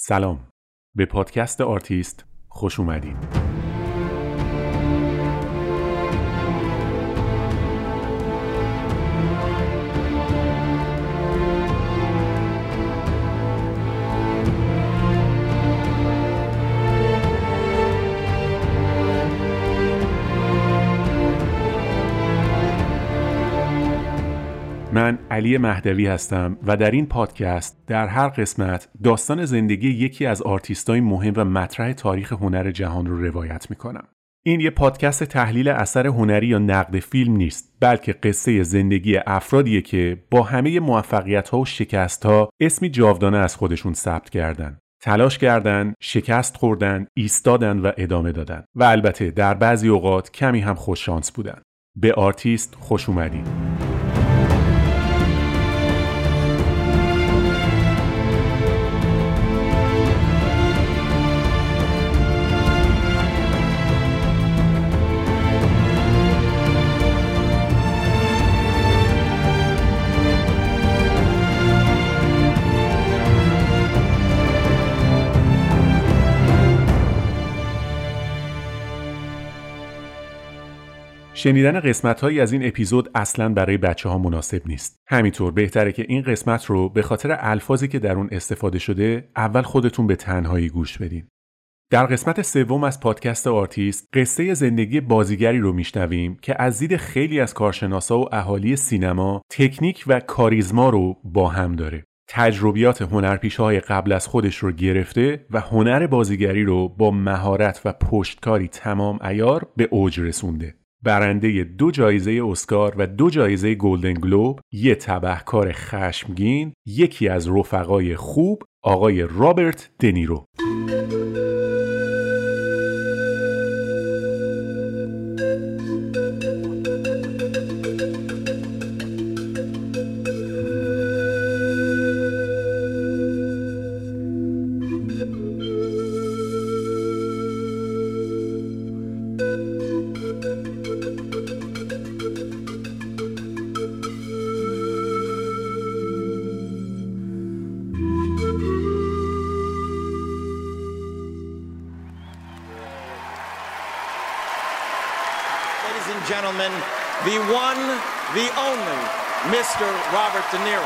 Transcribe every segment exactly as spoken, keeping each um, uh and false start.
سلام، به پادکست آرتیست خوش اومدید. من علی مهدوی هستم و در این پادکست در هر قسمت داستان زندگی یکی از آرتیستای مهم و مطرح تاریخ هنر جهان رو روایت میکنم. این یه پادکست تحلیل اثر هنری یا نقد فیلم نیست، بلکه قصه زندگی افرادیه که با همه موفقیت‌ها و شکست‌ها اسمی جاودانه از خودشون ثبت کردن. تلاش کردن، شکست خوردن، ایستادن و ادامه دادن. و البته در بعضی اوقات کمی هم خوش شانس بودن. به آرتیست خوش اومدید. شنیدن قسمت‌هایی از این اپیزود اصلاً برای بچه‌ها مناسب نیست. همینطور بهتره که این قسمت رو به خاطر الفاظی که در اون استفاده شده اول خودتون به تنهایی گوش بدین. در قسمت سوم از پادکست آرتیست قصه زندگی بازیگری رو میشنویم که از دید خیلی از کارشناسا و اهالی سینما تکنیک و کاریزما رو با هم داره. تجربیات هنرپیشه‌های قبل از خودش رو گرفته و هنر بازیگری رو با مهارت و پشتکاری تمام عیار به اوج رسونده. برنده دو جایزه اسکار و دو جایزه گلدن گلوب، یه تبهکار خشمگین، یکی از رفقای خوب، آقای رابرت دنیرو. Gentlemen, the one, the only, mister Robert De Niro.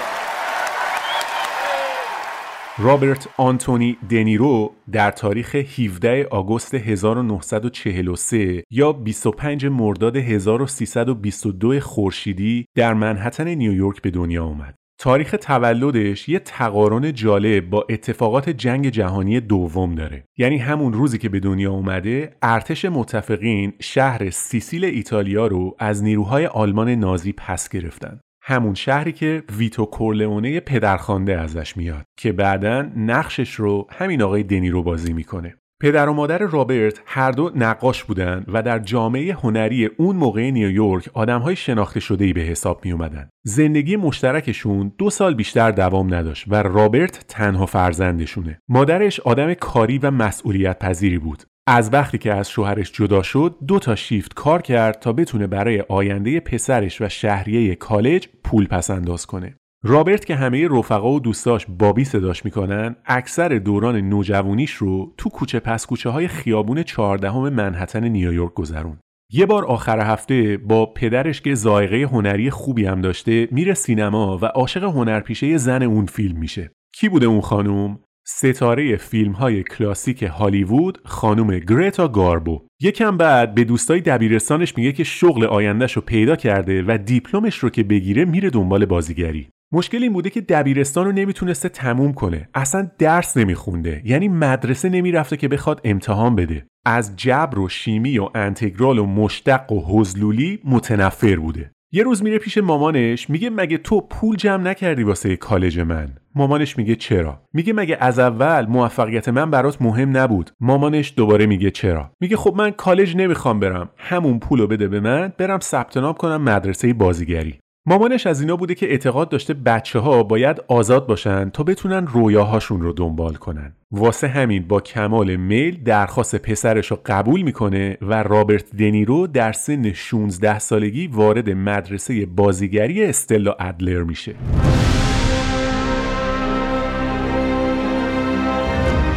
رابرت آنتونی دنیرو در تاریخ هفدهم آگوست هزار و نهصد و چهل و سه یا بیست و پنجم مرداد هزار و سیصد و بیست و دو خورشیدی در منهتن نیویورک به دنیا آمد. تاریخ تولدش یه تقارن جالب با اتفاقات جنگ جهانی دوم داره. یعنی همون روزی که به دنیا اومده، ارتش متفقین شهر سیسیل ایتالیا رو از نیروهای آلمان نازی پس گرفتن. همون شهری که ویتو کورلئونه پدرخوانده ازش میاد که بعداً نقشش رو همین آقای دنیرو بازی میکنه. پدر و مادر رابرت هر دو نقاش بودن و در جامعه هنری اون موقع نیویورک آدم‌های شناخته شده‌ای به حساب می اومدن. زندگی مشترکشون دو سال بیشتر دوام نداشت و رابرت تنها فرزندشونه. مادرش آدم کاری و مسئولیت پذیری بود. از وقتی که از شوهرش جدا شد، دو تا شیفت کار کرد تا بتونه برای آینده پسرش و شهریه کالج پول پس انداز کنه. رابرت که همه رفقا و دوستاش بابی صداش میکنن، اکثر دوران نوجوانیش رو تو کوچه پس کوچه های خیابون چهاردهم منهتن نیویورک گذرون. یه بار آخر هفته با پدرش که ذائقه هنری خوبی هم داشته میره سینما و عاشق هنرپیشه زن اون فیلم میشه. کی بوده اون خانوم؟ ستاره فیلم های کلاسیک هالیوود خانوم گرتا گاربو. یکم بعد به دوستای دبیرستانش میگه که شغل آیندهش رو پیدا کرده و دیپلمش رو که بگیره میره دنبال بازیگری. مشکل این بوده که دبیرستان رو نمیتونسته تموم کنه. اصلا درس نمیخونده. یعنی مدرسه نمیرفته که بخواد امتحان بده. از جبر و شیمی و انتگرال و مشتق و حزلولی متنفر بوده. یه روز میره پیش مامانش میگه مگه تو پول جمع نکردی واسه کالج من؟ مامانش میگه چرا؟ میگه مگه از اول موفقیت من برات مهم نبود؟ مامانش دوباره میگه چرا؟ میگه خب من کالج نمیخوام برم، همون پولو بده به من برم ثبت نام کنم مدرسه بازیگری. مامانش از اینا بوده که اعتقاد داشته بچه‌ها باید آزاد باشن تا بتونن رویاهاشون رو دنبال کنن. واسه همین با کمال میل درخواست پسرش رو قبول میکنه و رابرت دنیرو در سن شانزده سالگی وارد مدرسه بازیگری استلا ادلر میشه.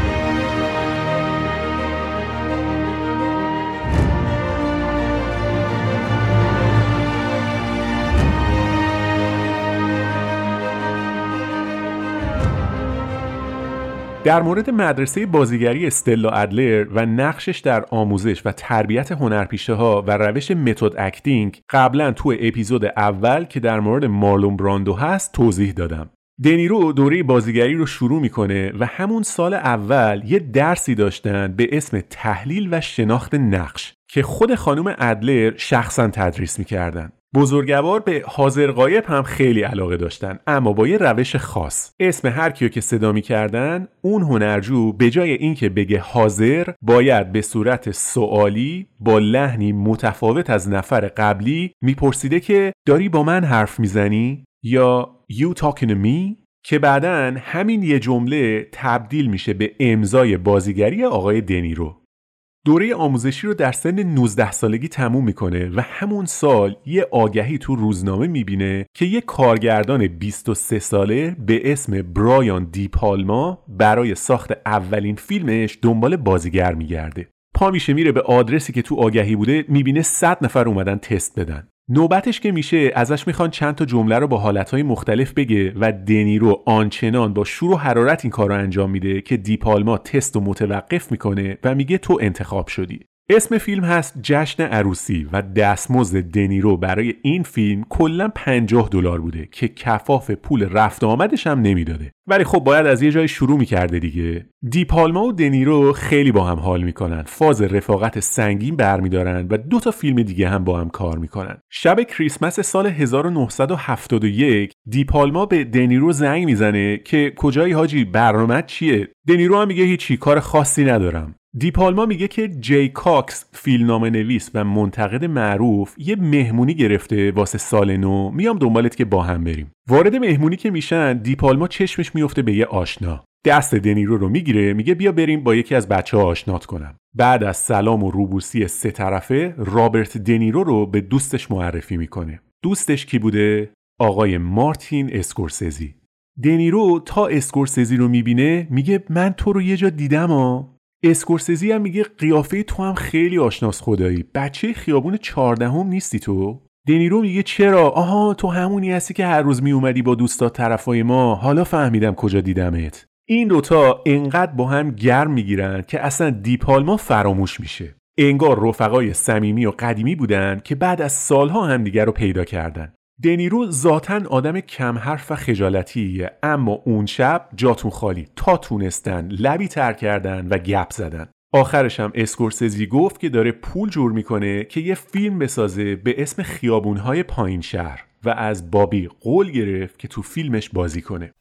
در مورد مدرسه بازیگری استلا ادلر و نقشش در آموزش و تربیت هنرپیشه‌ها و روش متد اکتینگ قبلا تو اپیزود اول که در مورد مارلون براندو هست توضیح دادم. دنیرو دوره بازیگری رو شروع میکنه و همون سال اول یه درسی داشتن به اسم تحلیل و شناخت نقش که خود خانم ادلر شخصا تدریس میکردن. بزرگوار به حاضر غایب هم خیلی علاقه داشتن، اما با یه روش خاص. اسم هر کیو که صدا می‌کردن، اون هنرجو به جای اینکه بگه حاضر، باید به صورت سوالی با لحنی متفاوت از نفر قبلی میپرسیده که داری با من حرف میزنی؟ یا you talking to me؟ که بعدن همین یه جمله تبدیل میشه به امضای بازیگری آقای دنیرو. دوره آموزشی رو در سن نوزده سالگی تموم میکنه و همون سال یه آگهی تو روزنامه میبینه که یه کارگردان بیست و سه ساله به اسم برایان دی پالما برای ساخت اولین فیلمش دنبال بازیگر میگرده. پا میشه میره به آدرسی که تو آگهی بوده، میبینه صد نفر اومدن تست بدن. نوبتش که میشه ازش میخوان چند تا جمله رو با حالتهای مختلف بگه و دنیرو آنچنان با شور و حرارت این کار رو انجام میده که دی پالما تست رو متوقف میکنه و میگه تو انتخاب شدی. اسم فیلم هست جشن عروسی و دستمزد دنیرو برای این فیلم کلاً پنجاه دلار بوده که کفاف پول رفت آمدش هم نمیداده. ولی خب باید از یه جای شروع میکرده دیگه. دی پالما و دنیرو خیلی با هم حال میکنن، فاز رفاقت سنگین برمیدارن و دو تا فیلم دیگه هم با هم کار میکنن. شب کریسمس سال هزار و نهصد و هفتاد و یک دی پالما به دنیرو زنگ میزنه که کجایی حاجی، برنامه چیه؟ دنیرو هم میگه هیچی، کار خاصی ندارم. دی پالما میگه که جی کاکس فیلمنامه نویس و منتقد معروف یه مهمونی گرفته واسه سال نو، میام دنبالت که با هم بریم. وارد مهمونی که میشن دی پالما چشمش میفته به یه آشنا. دست دنیرو رو میگیره، میگه بیا بریم با یکی از بچه‌ها آشنات کنم. بعد از سلام و روبوسی سه طرفه رابرت دنیرو رو به دوستش معرفی میکنه. دوستش کی بوده؟ آقای مارتین اسکورسزی. دنیرو تا اسکورسزی رو میبینه میگه من تو رو یه جا دیدم ها. اسکورسزی هم میگه قیافه تو هم خیلی آشناس خدایی، بچه خیابون چهاردهم نیستی تو؟ دنیرو میگه چرا؟ آها تو همونی هستی که هر روز می اومدی با دوستا طرفای ما، حالا فهمیدم کجا دیدمت. این دوتا انقدر با هم گرم میگیرن که اصلا دی پالما فراموش میشه. انگار رفقای صمیمی و قدیمی بودن که بعد از سالها هم دیگر رو پیدا کردن. دنیرو ذاتاً آدم کم حرف و خجالتیه، اما اون شب جاتون خالی، تا تونستن لبی تر کردن و گپ زدن. آخرش هم اسکورسزی گفت که داره پول جور میکنه که یه فیلم بسازه به اسم خیابونهای پایین شهر و از بابی قول گرفت که تو فیلمش بازی کنه.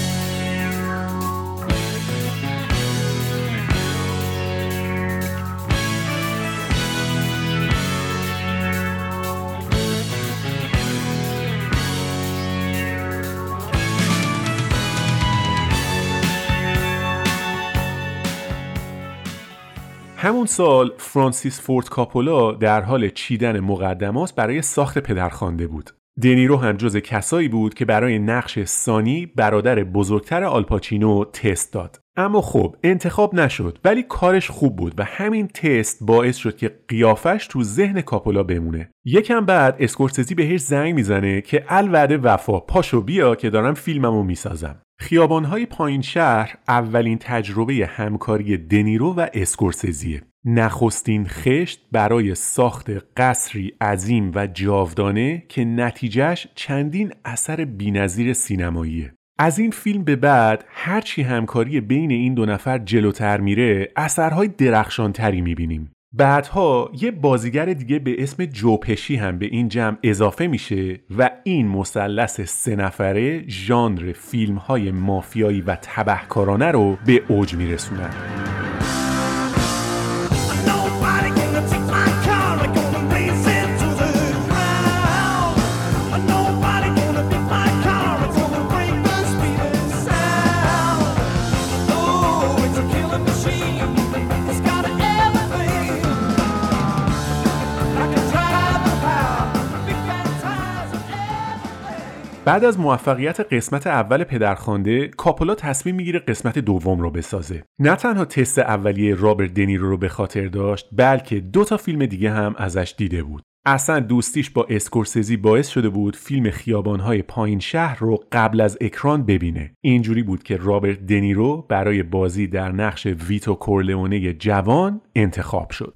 همون سال فرانسیس فورد کاپولا در حال چیدن مقدمات برای ساخت پدرخوانده بود. دنیرو هم جز کسایی بود که برای نقش سانی برادر بزرگتر آلپاچینو تست داد. اما خب انتخاب نشد، ولی کارش خوب بود و همین تست باعث شد که قیافش تو ذهن کاپولا بمونه. یکم بعد اسکورسزی بهش زنگ میزنه که الوعده وفا، پاشو بیا که دارم فیلممو میسازم. خیابان‌های پایین شهر اولین تجربه همکاری دنیرو و اسکورسزیه. نخستین خشت برای ساخت قصری عظیم و جاودانه که نتیجهش چندین اثر بی‌نظیر سینماییه. از این فیلم به بعد هرچی همکاری بین این دو نفر جلوتر میره اثرهای درخشانتری میبینیم. بعدها یه بازیگر دیگه به اسم جو پشی هم به این جمع اضافه میشه و این مثلث سه نفره ژانر فیلم‌های مافیایی و تبهکارانه رو به اوج میرسونن. بعد از موفقیت قسمت اول پدرخوانده، کاپولا تصمیم میگیره قسمت دوم رو بسازه. نه تنها تست اولیه رابرت دنیرو رو به خاطر داشت، بلکه دو تا فیلم دیگه هم ازش دیده بود. اصلا دوستیش با اسکورسیزی باعث شده بود فیلم خیابان‌های پایین شهر رو قبل از اکران ببینه. اینجوری بود که رابرت دنیرو برای بازی در نقش ویتو کورلئونه جوان انتخاب شد.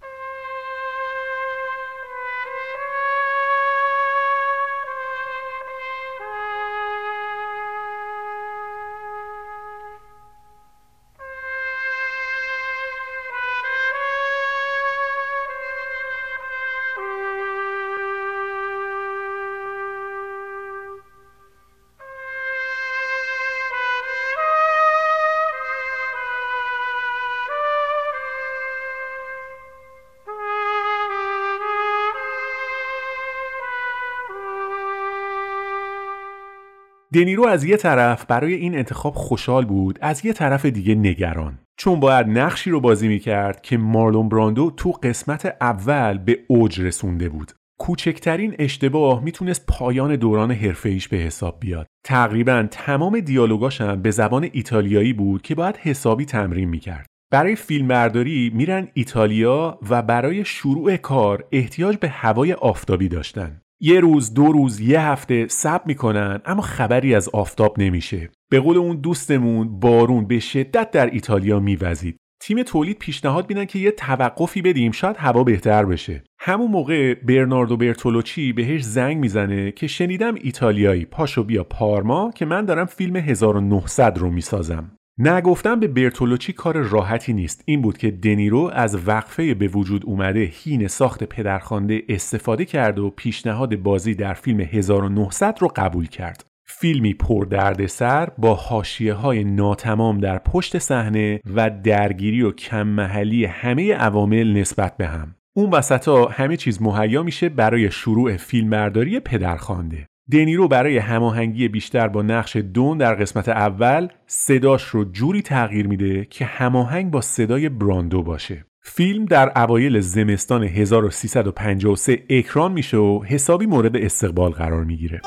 دنیرو از یه طرف برای این انتخاب خوشحال بود، از یه طرف دیگه نگران، چون باید نقشی رو بازی میکرد که مارلون براندو تو قسمت اول به اوج رسونده بود. کوچکترین اشتباه میتونست پایان دوران حرفه‌ایش به حساب بیاد. تقریباً تمام دیالوگاش هم به زبان ایتالیایی بود که باید حسابی تمرین میکرد. برای فیلمبرداری میرن ایتالیا و برای شروع کار احتیاج به هوای آفتابی داشتن. یه روز، دو روز، یه هفته صبر میکنن اما خبری از آفتاب نمیشه. به قول اون دوستمون بارون به شدت در ایتالیا میوزید. تیم تولید پیشنهاد میدن که یه توقفی بدیم، شاید هوا بهتر بشه. همون موقع برناردو برتولوچی بهش زنگ میزنه که شنیدم ایتالیایی، پاشو بیا پارما که من دارم فیلم هزار و نهصد رو میسازم. نگفتم به برتولوچی کار راحتی نیست. این بود که دنیرو از وقفه به وجود اومده حین ساخت پدرخوانده استفاده کرد و پیشنهاد بازی در فیلم هزار و نهصد رو قبول کرد. فیلمی پر دردسر با حاشیه‌های ناتمام در پشت صحنه و درگیری و کم محلی همه عوامل نسبت به هم. اون وسطا همه چیز مهیا میشه برای شروع فیلمبرداری پدرخوانده. دنیرو برای هماهنگی بیشتر با نقش دون در قسمت اول صداش رو جوری تغییر میده که هماهنگ با صدای براندو باشه. فیلم در اوایل زمستان هزار و سیصد و پنجاه و سه اکران میشه و حسابی مورد استقبال قرار میگیره.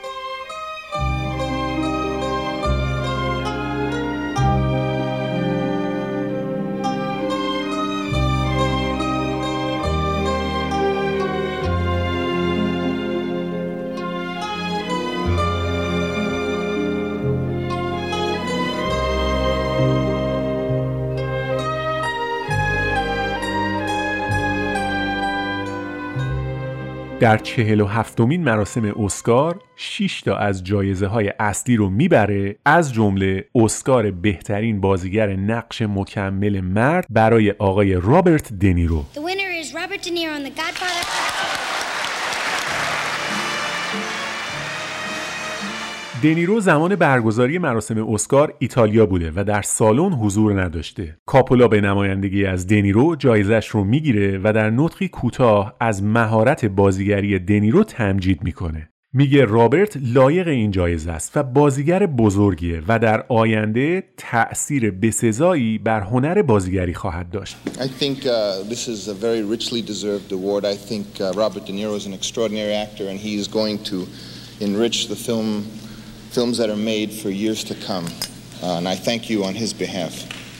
در چهل و هفتمین مراسم اسکار شش تا از جایزه های اصلی رو میبره، از جمله اسکار بهترین بازیگر نقش مکمل مرد برای آقای رابرت دنیرو. The winner is Robert De Niro in The Godfather. دنیرو زمان برگزاری مراسم اسکار ایتالیا بوده و در سالن حضور نداشته. کاپولا به نمایندگی از دنیرو جایزش رو میگیره و در نطقی کوتاه از مهارت بازیگری دنیرو تمجید میکنه. میگه رابرت لایق این جایزه است و بازیگر بزرگیه و در آینده تأثیر بسزایی بر هنر بازیگری خواهد داشت. I think uh, this is a very richly deserved award. I think uh, Robert De Niro is an extraordinary actor and he is going to enrich the film films that are made for years to come. Uh, and I thank you on his behalf.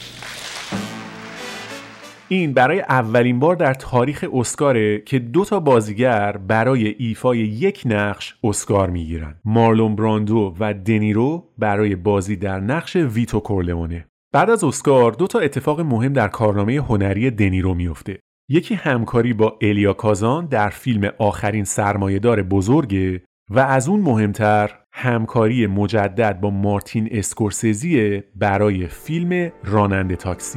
این برای اولین بار در تاریخ اسکاره که دو تا بازیگر برای ایفای یک نقش اسکار میگیرن. مارلون براندو و دنیرو برای بازی در نقش ویتو کورلئونه. بعد از اسکار دو تا اتفاق مهم در کارنامه هنری دنیرو میفته. یکی همکاری با الیا کازان در فیلم آخرین سرمایه‌دار بزرگه و از اون مهمتر همکاری مجدد با مارتین اسکورسیزی برای فیلم راننده تاکسی.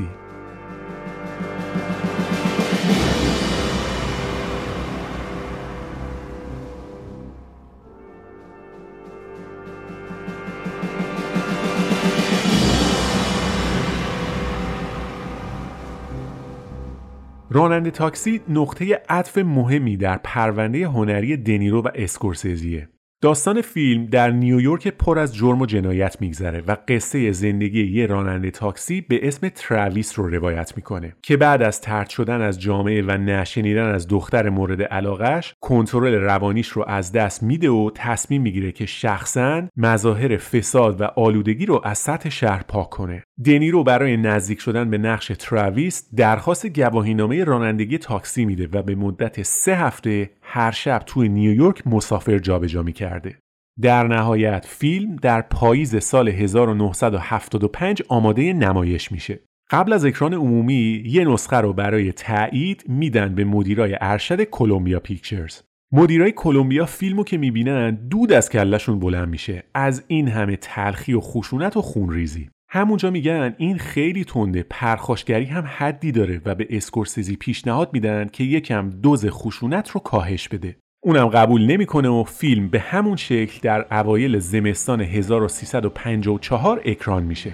راننده تاکسی نقطه عطف مهمی در پرونده هنری دنیرو و اسکورسیزیه. داستان فیلم در نیویورک پر از جرم و جنایت میگذره و قصه زندگی یه راننده تاکسی به اسم تراویس رو روایت میکنه که بعد از طرد شدن از جامعه و نشنیدن از دختر مورد علاقش کنترل روانیش رو از دست میده و تصمیم میگیره که شخصاً مظاهر فساد و آلودگی رو از سطح شهر پاک کنه. دنیرو برای نزدیک شدن به نقش تراویس درخواست گواهینامه رانندگی تاکسی میده و به مدت سه هفته هر شب توی نیویورک مسافر جابجا می‌کرده. در نهایت فیلم در پاییز سال هزار و نهصد و هفتاد و پنج آماده نمایش میشه. قبل از اکران عمومی یه نسخه رو برای تایید میدن به مدیرای ارشد کلمبیا پیکچرز. مدیرای کلمبیا فیلمو که میبینن دود از کلشون بلند میشه از این همه تلخی و خشونت و خونریزی. همونجا میگن این خیلی تنده، پرخاشگری هم حدی داره و به اسکورسیزی پیشنهاد میدن که یکم دوز خشونت رو کاهش بده. اونم قبول نمیکنه و فیلم به همون شکل در اوایل زمستان هزار و سیصد و پنجاه و چهار اکران میشه.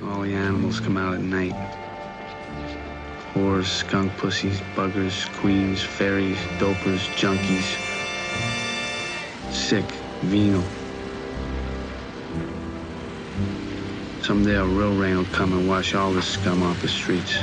Whores, skunk pussies, buggers, queens, fairies, dopers, junkies, sick, venal. Someday a real rain will come and wash all this scum off the streets.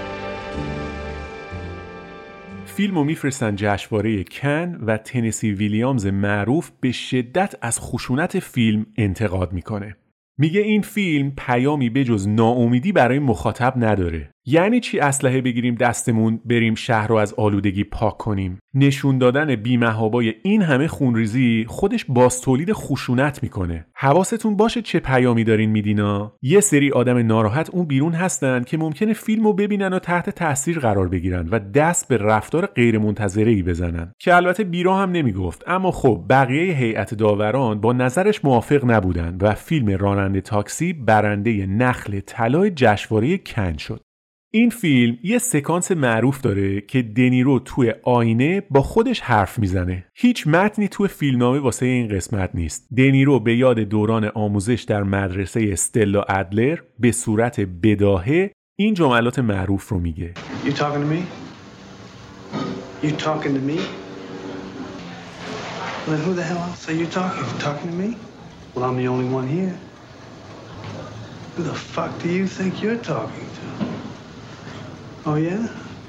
فیلمو میفرستن جشنواره کن و تنسی ویلیامز معروف به شدت از خشونت فیلم انتقاد میکنه. میگه این فیلم پیامی بجز ناامیدی برای مخاطب نداره. یعنی چی اسلحه بگیریم دستمون بریم شهر رو از آلودگی پاک کنیم؟ نشون دادن بی‌محابای این همه خونریزی خودش باز تولید خشونت میکنه. حواستون باشه چه پیامی دارین میدینا؟ یه سری آدم ناراحت اون بیرون هستن که ممکنه فیلمو ببینن و تحت تاثیر قرار بگیرن و دست به رفتار غیر منتظره‌ای بزنن که البته بیرا هم نمیگفت، اما خب بقیه هیئت داوران با نظرش موافق نبودن و فیلم راننده تاکسی برنده نخل طلای جشنواره کن شد. این فیلم یه سکانس معروف داره که دنیرو توی آینه با خودش حرف میزنه. هیچ متنی توی فیلمنامه واسه این قسمت نیست. دنیرو به یاد دوران آموزش در مدرسه استلا ادلر به صورت بداهه این جملات معروف رو میگه. You talking to me? You talking to me? Well, who the hell else are you talking? You talking to me? Well, I'm the only one here. Who the fuck do you think you're talking to? Oh yeah?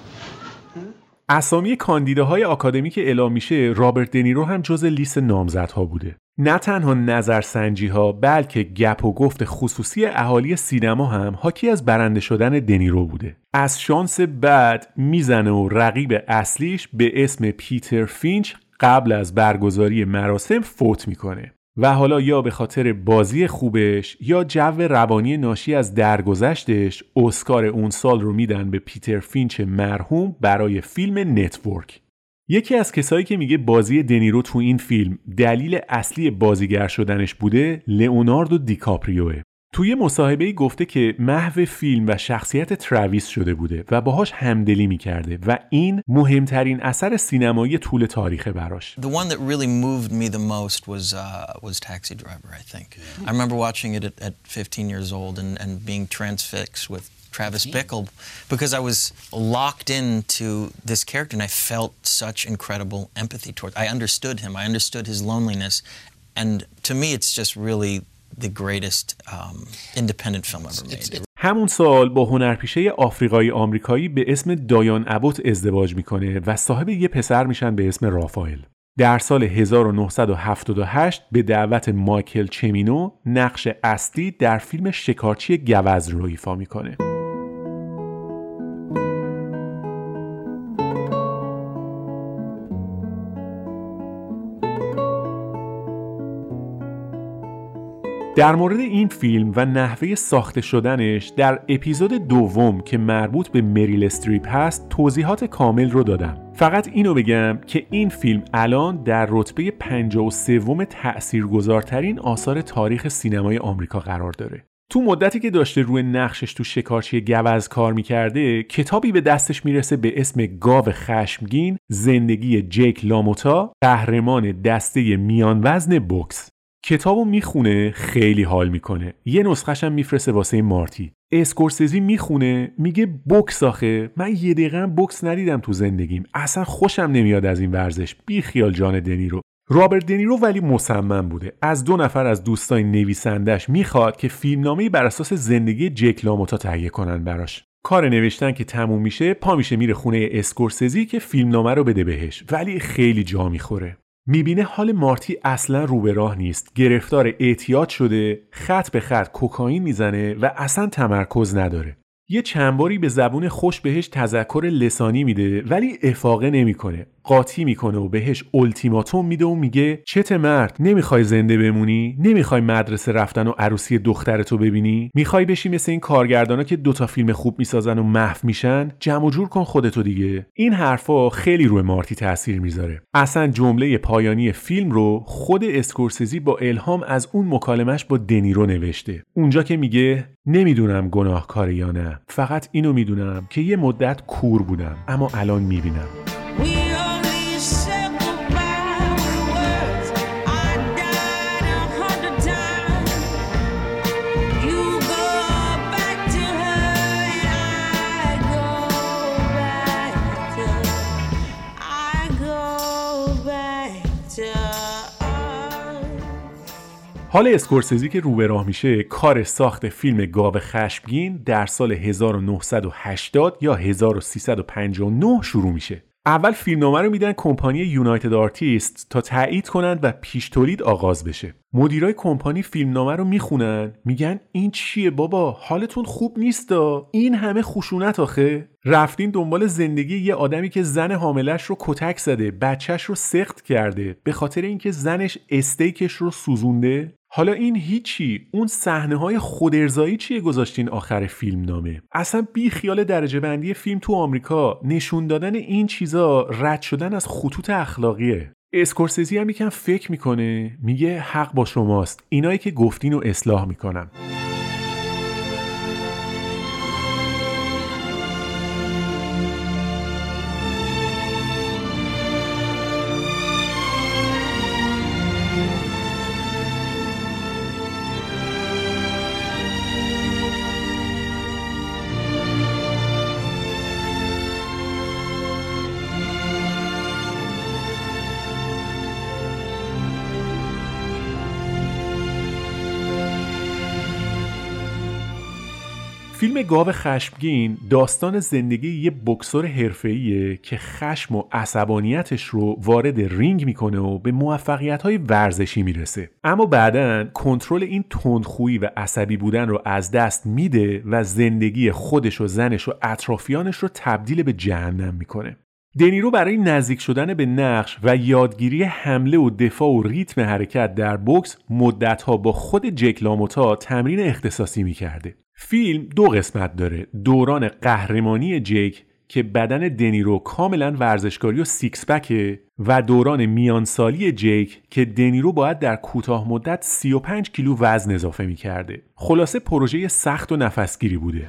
اسامی کاندیداهای آکادمیک اعلام میشه رابرت دنیرو هم جز لیست نامزدها بوده. نه تنها نظرسنجی ها بلکه گپ و گفت خصوصی اهالی سینما هم حاکی از برنده شدن دنیرو بوده. از شانس بد میزنه و رقیب اصلیش به اسم پیتر فینچ قبل از برگزاری مراسم فوت میکنه و حالا یا به خاطر بازی خوبش یا جو روانی ناشی از درگذشتش اسکار اون سال رو میدن به پیتر فینچ مرحوم برای فیلم نتورک. یکی از کسایی که میگه بازی دنیرو تو این فیلم دلیل اصلی بازیگر شدنش بوده لئوناردو دیکاپریوه. توی مصاحبه‌ای گفته که محو فیلم و شخصیت تراویس شده بوده و باهاش همدلی میکرده و این مهمترین اثر سینمایی طول تاریخ براش. The one that really moved me the most was uh, was Taxi Driver, I think. I remember watching it at, at fifteen years old and, and being transfixed with Travis Bickle because I was locked into this character and I felt such incredible empathy towards. I understood him. I understood his loneliness, and to me, it's just really the greatest um, independent film ever made. همون سال با هنرپیشه آفریقایی آمریکایی به اسم دایان ابوت ازدواج میکنه و صاحب یه پسر میشن به اسم رافائل. در سال هزار و نهصد و هفتاد و هشت به دعوت مایکل چمینو نقش اصلی در فیلم شکارچی گوز رو ایفا میکنه. در مورد این فیلم و نحوه ساخته شدنش در اپیزود دوم که مربوط به مریل استریپ هست توضیحات کامل رو دادم. فقط اینو بگم که این فیلم الان در رتبه پنجاه و سوم تأثیرگذارترین آثار تاریخ سینمای آمریکا قرار داره. تو مدتی که داشته روی نقشش تو شکارچی گوز کار میکرده کتابی به دستش میرسه به اسم گاو خشمگین، زندگی جیک لاموتا، قهرمان دسته میان وزن بوکس. کتابو میخونه خیلی حال میکنه. یه نسخه‌ش هم میفرسته واسه مارتی. اسکورسیزی میخونه میگه بوکس آخه من یه دقیقه بوکس ندیدم تو زندگیم. اصلا خوشم نمیاد از این ورزش. بی خیال جان دنیرو. رابرت دنیرو ولی مصمم بوده. از دو نفر از دوستای نویسندش میخواد که فیلمنامه‌ای بر اساس زندگی جک لاموتا تهیه کنن براش. کار نوشتن که تموم میشه پا میشه میره خونه اسکورسیزی که فیلمنامه رو بده بهش. ولی خیلی جا میخوره. میبینه حال مارتی اصلا رو به راه نیست. گرفتار اعتیاد شده، خط به خط کوکائین میزنه و اصلا تمرکز نداره. یه چند باری به زبون خوش بهش تذکر لسانی میده ولی افاقه نمیکنه. قاطی میکنه و بهش التیماتوم میده و میگه چت مرد، نمیخوای زنده بمونی؟ نمیخوای مدرسه رفتن و عروسی دخترتو ببینی؟ میخوای بشی مثل این کارگردانا که دوتا فیلم خوب میسازن و محو میشن؟ جمع و جور کن خودتو دیگه. این حرفا خیلی روی مارتی تاثیر میذاره. اصلا جمله پایانی فیلم رو خود اسکورسیزی با الهام از اون مکالمش با دنیرو نوشته. اونجا که میگه نمیدونم گناهکاره یا نه، فقط اینو میدونم که یه مدت کور بودم اما الان میبینم. حال اسکورسیزی که رو به راه میشه کار ساخت فیلم گاو خشمگین در سال هزار و نهصد و هشتاد یا هزار و سیصد و پنجاه و نه شروع میشه. اول فیلمنامه رو میدن کمپانی یونایتد آرتیست تا تایید کنند و پیش تولید آغاز بشه. مدیرای کمپانی فیلمنامه رو میخونن، میگن این چیه بابا، حالتون خوب نیستا، این همه خشونت آخه؟ رفتین دنبال زندگی یه آدمی که زن حاملش رو کتک زده، بچهش رو سقط کرده به خاطر اینکه زنش استیکش رو سوزونده؟ حالا این هیچی، اون صحنه‌های خودارضایی چیه گذاشتین آخر فیلم نامه؟ اصلا بی خیال درجه بندی فیلم تو آمریکا، نشون دادن این چیزا رد شدن از خطوط اخلاقیه. اسکورسیزی هم یکم فکر میکنه، میگه حق با شماست، اینایی که گفتین رو اصلاح میکنم. فیلم گاو خشمگین داستان زندگی یه بوکسور حرفه‌ایه که خشم و عصبانیتش رو وارد رینگ میکنه و به موفقیت‌های ورزشی میرسه، اما بعداً کنترل این تندخویی و عصبی بودن رو از دست میده و زندگی خودش و زنش و اطرافیانش رو تبدیل به جهنم میکنه. دنیرو برای نزدیک شدن به نقش و یادگیری حمله و دفاع و ریتم حرکت در بوکس مدت‌ها با خود جک لاموتا تمرین اختصاصی میکرده. فیلم دو قسمت داره، دوران قهرمانی جک که بدن دنیرو کاملا ورزشکاری و سیکس پکه و دوران میانسالی جک که دنیرو باید در کوتاه مدت سی و پنج کیلو وزن اضافه میکرده. خلاصه پروژه سخت و نفسگیری بوده.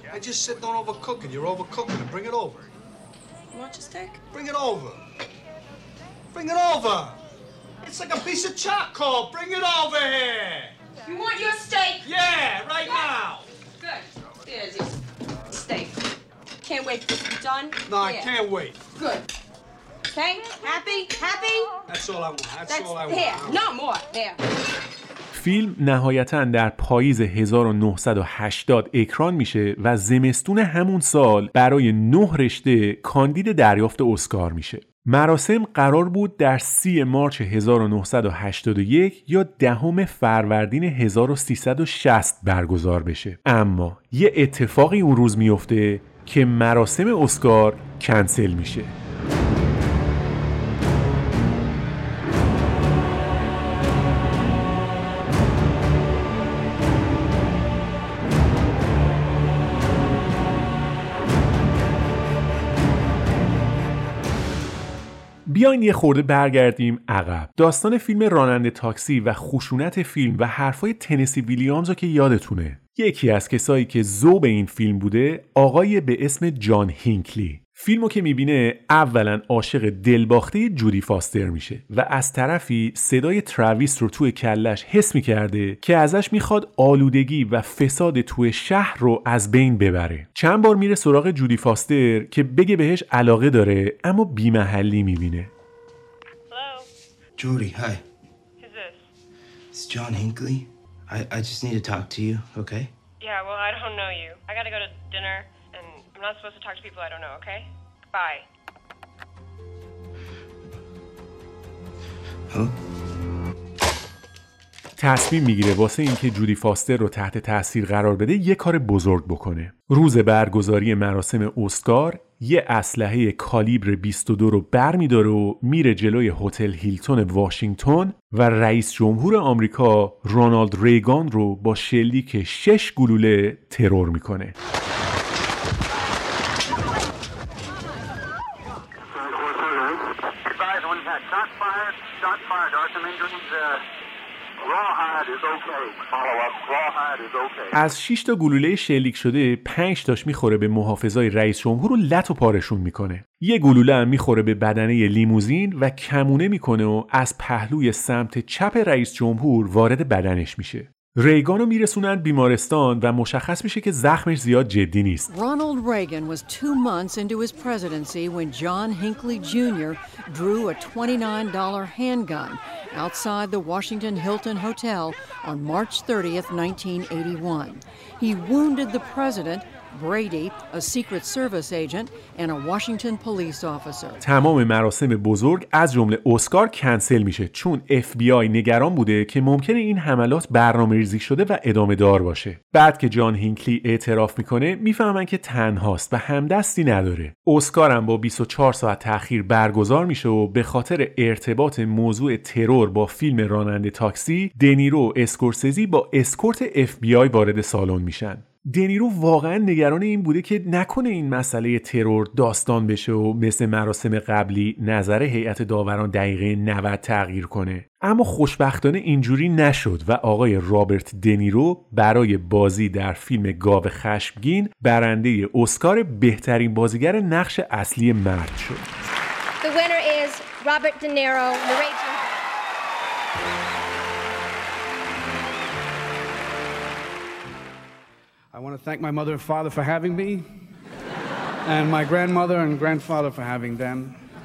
Good. There's your steak. Can't wait for this to be done. No, I yeah. can't wait. Good. Okay? Happy? Happy? That's all I want. That's, That's all I want. here. No more. There. فیلم نهایتاً در پاییز هزار و نهصد و هشتاد اکران میشه و زمستون همون سال برای نه رشته کاندید دریافت اسکار میشه. مراسم قرار بود در سی مارچ هزار و نهصد و هشتاد و یک یا دهم فروردین هزار و سیصد و شصت برگزار بشه، اما یه اتفاقی اون روز میفته که مراسم اسکار کنسل میشه. بیاین یه خورده برگردیم عقب. داستان فیلم راننده تاکسی و خشونت فیلم و حرفای تنسی ویلیامز رو که یادتونه. یکی از کسایی که ذوب این فیلم بوده آقای به اسم جان هینکلی. فیلمو که میبینه اولا عاشق دلباخته جودی فاستر میشه و از طرفی صدای تراویس رو توی کلش حس میکرده که ازش میخواد آلودگی و فساد توی شهر رو از بین ببره. چند بار میره سراغ جودی فاستر که بگه بهش علاقه داره اما بی‌محلی میبینه. Hello? Judy, hi. Who's this? It's John Hinckley. I, I just need to talk to you, okay? Yeah, well, I don't know you. I gotta go to dinner, and I'm not supposed to talk to people I don't know, okay? Bye. Huh? تصمیم میگیره واسه اینکه جودی فاستر رو تحت تاثیر قرار بده یه کار بزرگ بکنه. روز برگزاری مراسم اسکار یه اسلحه کالیبر بیست و دو رو برمی‌داره و میره جلوی هتل هیلتون واشنگتن و رئیس جمهور آمریکا رونالد ریگان رو با شلیک شش گلوله ترور میکنه. از شش تا گلوله شلیک شده پنج تاش میخوره به محافظای رئیس جمهور و لط و پارشون میکنه. یه گلوله هم میخوره به بدنه لیموزین و کمونه میکنه و از پهلوی سمت چپ رئیس جمهور وارد بدنش میشه. ریگانو میرسونن بیمارستان و مشخص میشه که زخمش زیاد جدی نیست. Ronald Reagan was two months into his presidency when John Hinckley Junior drew a twenty-nine dollar handgun outside the Washington Hilton Hotel on March thirtieth, nineteen eighty-one. He wounded the president, Brady, a Secret Service agent, and a Washington police officer. تمام مراسم بزرگ از جمله اسکار کنسل میشه چون اف بی آی نگران بوده که ممکنه این حملات برنامه‌ریزی شده و ادامه دار باشه. بعد که جان هینکلی اعتراف میکنه میفهمن که تنهاست و همدستی نداره. اسکار هم با بیست و چهار ساعت تأخیر برگزار میشه و به خاطر ارتباط موضوع ترور با فیلم راننده تاکسی، دنیرو و اسکورسزی با اسکورت اف بی آی وارد سالن میشن. دنیرو واقعا نگران این بوده که نکنه این مسئله ترور داستان بشه و مثل مراسم قبلی نظر هیئت داوران دقیقه نود تغییر کنه. اما خوشبختانه اینجوری نشد و آقای رابرت دنیرو برای بازی در فیلم گاو خشمگین برنده اسکار بهترین بازیگر نقش اصلی مرد شد. The winner is Robert De Niro, the Raging. I want to thank my mother and father for having me, and my grandmother and grandfather for having them,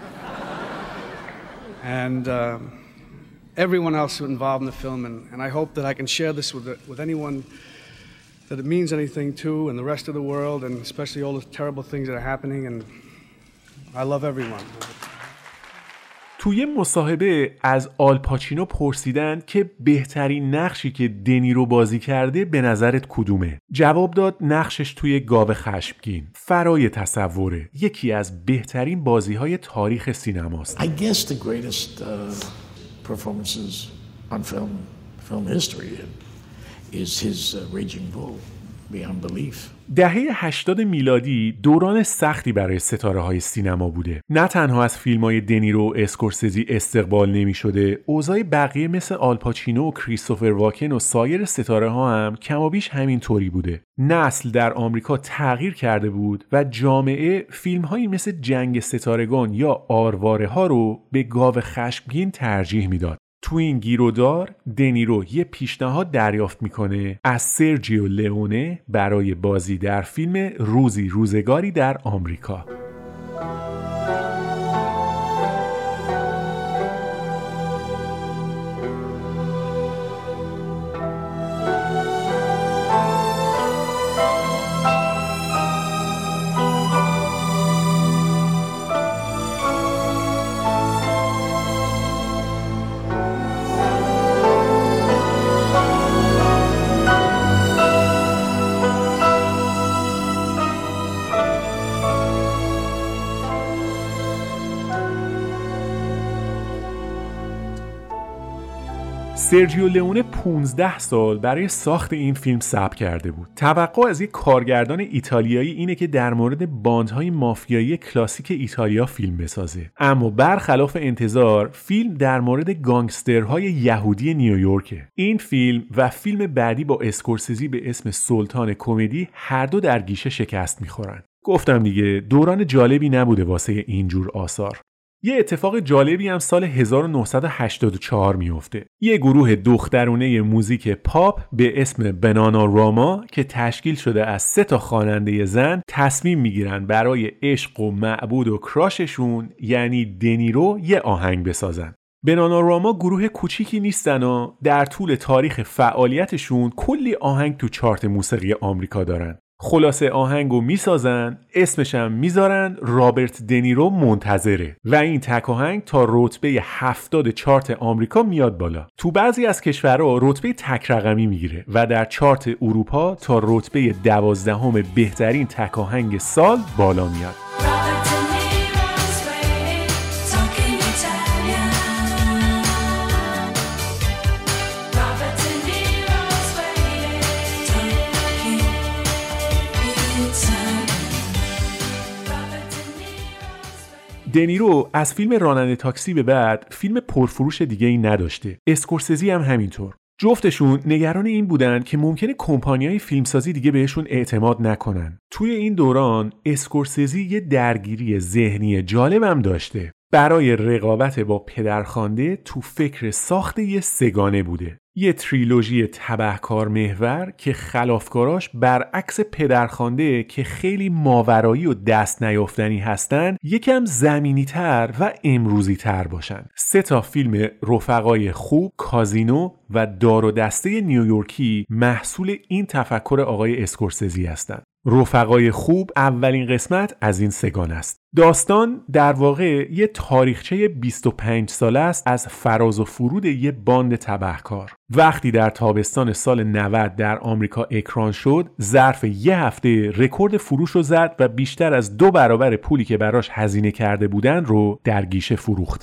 and uh, everyone else who involved in the film. And, and I hope that I can share this with the, with anyone that it means anything to, and the rest of the world, and especially all the terrible things that are happening. And I love everyone. توی مصاحبه از آل پاچینو پرسیدن که بهترین نقشی که دنیرو بازی کرده به نظرت کدومه؟ جواب داد نقشش توی گاو خشمگین فرای تصوره، یکی از بهترین بازی‌های تاریخ سینماست. I guess the greatest uh, performances on film film history is his uh, Raging Bull beyond belief. دهه هشتاد میلادی دوران سختی برای ستاره‌های سینما بوده. نه تنها از فیلم‌های دنیرو و اسکورسزی استقبال نمی‌شده، اوضاع بقیه مثل آلپاچینو و کریستوفر واکن و سایر ستاره‌ها هم کمابیش همین طوری بوده. نسل در آمریکا تغییر کرده بود و جامعه فیلم‌هایی مثل جنگ ستارگان یا آرواره‌ها رو به گاو خشمگین ترجیح میداد. تو این گیرودار دنیرو یه پیشنهاد دریافت میکنه از سرجیو لئونه برای بازی در فیلم روزی روزگاری در آمریکا. سرجیو لئونه پانزده سال برای ساخت این فیلم صبر کرده بود. توقع از یک کارگردان ایتالیایی اینه که در مورد باندهای مافیایی کلاسیک ایتالیا فیلم بسازه، اما برخلاف انتظار فیلم در مورد گانگسترهای یهودی نیویورکه. این فیلم و فیلم بعدی با اسکورسزی به اسم سلطان کمدی هر دو در گیشه شکست میخورن. گفتم دیگه دوران جالبی نبوده واسه اینجور آثار. یه اتفاق جالبی هم سال هزار و نهصد و هشتاد و چهار میفته. یه گروه دخترونه موزیک پاپ به اسم بنانا راما که تشکیل شده از سه تا خواننده زن تصمیم میگیرن برای عشق و معبود و کراششون یعنی دنیرو یه آهنگ بسازن. بنانا راما گروه کوچیکی نیستن و در طول تاریخ فعالیتشون کلی آهنگ تو چارت موسیقی آمریکا دارن. خلاصه آهنگو میسازن، اسمش هم میذارن، رابرت دنیرو منتظره و این تک آهنگ تا رتبه هفتاد چارت آمریکا میاد بالا. تو بعضی از کشورها رتبه تک رقمی میگیره و در چارت اروپا تا رتبه دوازدهم بهترین تک آهنگ سال بالا میاد. دنیرو از فیلم راننده تاکسی به بعد فیلم پرفروش دیگه ای نداشته. اسکورسزی هم همینطور. جفتشون نگران این بودن که ممکنه کمپانیای فیلمسازی دیگه بهشون اعتماد نکنن. توی این دوران اسکورسزی یه درگیری ذهنی جالبم داشته. برای رقابت با پدرخوانده تو فکر ساخت یه سگانه بوده. یه تریلوژی تبهکار محور که خلافکاراش برعکس پدرخوانده که خیلی ماورایی و دست نیافتنی هستن یکم زمینی تر و امروزی تر باشن. سه تا فیلم رفقای خوب، کازینو و دار و دسته نیویورکی محصول این تفکر آقای اسکورسزی هستن. رفقای خوب اولین قسمت از این سگانه است. داستان در واقع یه تاریخچه بیست و پنج ساله است از فراز و فرود یه باند تبهکار. وقتی در تابستان سال نود در آمریکا اکران شد، ظرف یه هفته رکورد فروش رو زد و بیشتر از دو برابر پولی که براش هزینه کرده بودن رو در گیشه فروخت.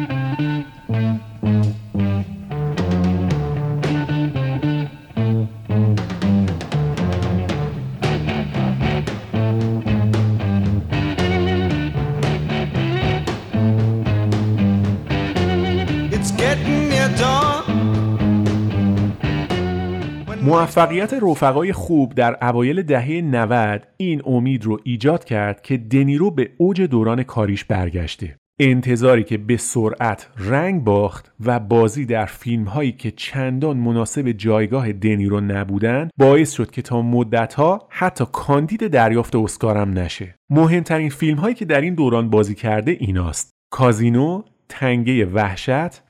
موفقیت رفقای خوب در اوایل دهه نود این امید رو ایجاد کرد که دنیرو به اوج دوران کاریش برگشته. انتظاری که به سرعت رنگ باخت و بازی در فیلم‌هایی که چندان مناسب جایگاه دنیرو نبودن باعث شد که تا مدت‌ها حتی کاندید دریافت اسکار هم نشه. مهمترین فیلم‌هایی که در این دوران بازی کرده ایناست: کازینو، تنگه وحشت،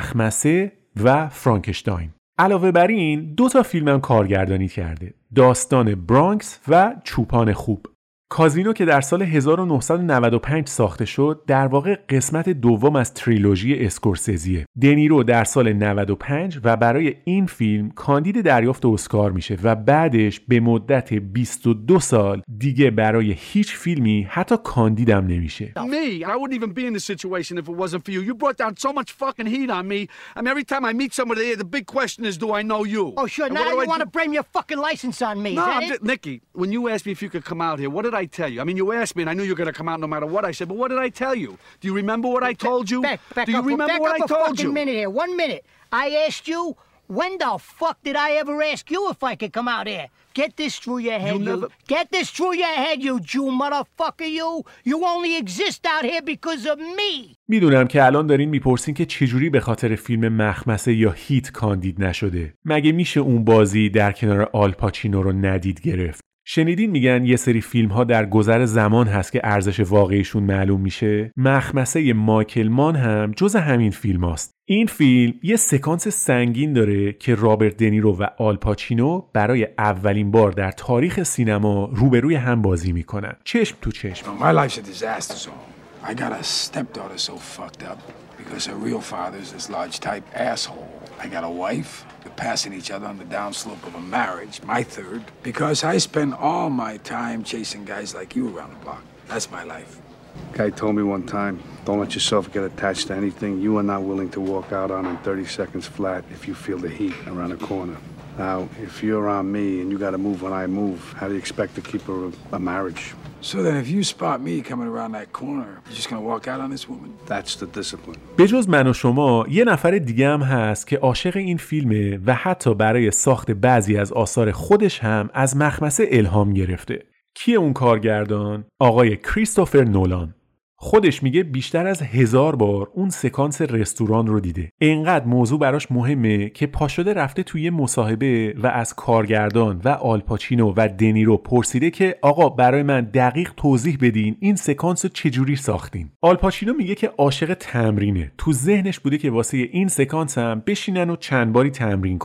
مخمسه و فرانکشتاین. علاوه بر این دو تا فیلم هم کارگردانی کرده: داستان برانکس و چوپان خوب. کازینو که در سال هزار و نهصد و نود و پنج ساخته شد در واقع قسمت دوم از تریلوژی اسکورسزیه. دنیرو در سال نود و پنج و برای این فیلم کاندید دریافت اسکار میشه و بعدش به مدت بیست و دو سال دیگه برای هیچ فیلمی حتی کاندیدم نمیشه. Me, I wouldn't even be in this situation if it wasn't for you. You brought down so much fucking heat on me. I mean, every time I meet somebody here, the big question is, do I know you? Oh, sure. Now you want to blame your fucking license on me. No, is that I'm it? just, Nikki, when you asked me if you could come out here, what did I tell you? I mean, you asked me, and I knew you were going to come out no matter what I said, but what did I tell you? Do you remember what I told you? Back, back Do you up, remember back what up I a told fucking you? minute here. One minute. I asked you, when the fuck did I ever ask you if I could come out here? Get this through your head, you. you. Never... Get this through your head, you Jew motherfucker, you. You only exist out here because of me. میدونم که الان دارین میپرسین که چجوری به خاطر فیلم مخمسه یا هیت کاندید نشده. مگه میشه اون بازی در کنار آل پاچینو رو ندید گرفت؟ شنیدین میگن یه سری فیلم ها در گذر زمان هست که ارزش واقعیشون معلوم میشه؟ مخمسه مایکل مان هم جز همین فیلم هاست. این فیلم یه سکانس سنگین داره که رابرت دنیرو و آل پاچینو برای اولین بار در تاریخ سینما روبروی هم بازی میکنن. چشم تو چشم. My life's a disaster zone. I got a stepdaughter so fucked up because her real father's this large type asshole. I got a wife. We're passing each other on the downslope of a marriage, my third, because I spend all my time chasing guys like you around the block. That's my life. Guy told me one time, don't let yourself get attached to anything you are not willing to walk out on in thirty seconds flat if you feel the heat around a corner. Now, if you're on me and you got to move when I move, how do you expect to keep a, a marriage? So then if you spot me coming around that corner, you're just going to walk out on this woman? That's the discipline. به جز من و شما یه نفر دیگه هم هست که عاشق این فیلمه و حتی برای ساخت بعضی از آثار خودش هم از مخمسه الهام گرفته. کیه اون کارگردان؟ آقای کریستوفر نولان. خودش میگه بیشتر از هزار بار اون سکانس رستوران رو دیده. اینقدر موضوع براش مهمه که پاشده رفته توی مصاحبه و از کارگردان و آل پاچینو و دنیرو پرسیده که آقا برای من دقیق توضیح بدین این سکانس رو چجوری ساختین. آل پاچینو میگه که عاشق تمرینه. تو ذهنش بوده که واسه این سکانس هم بشینن و چند باری تمرین کنن.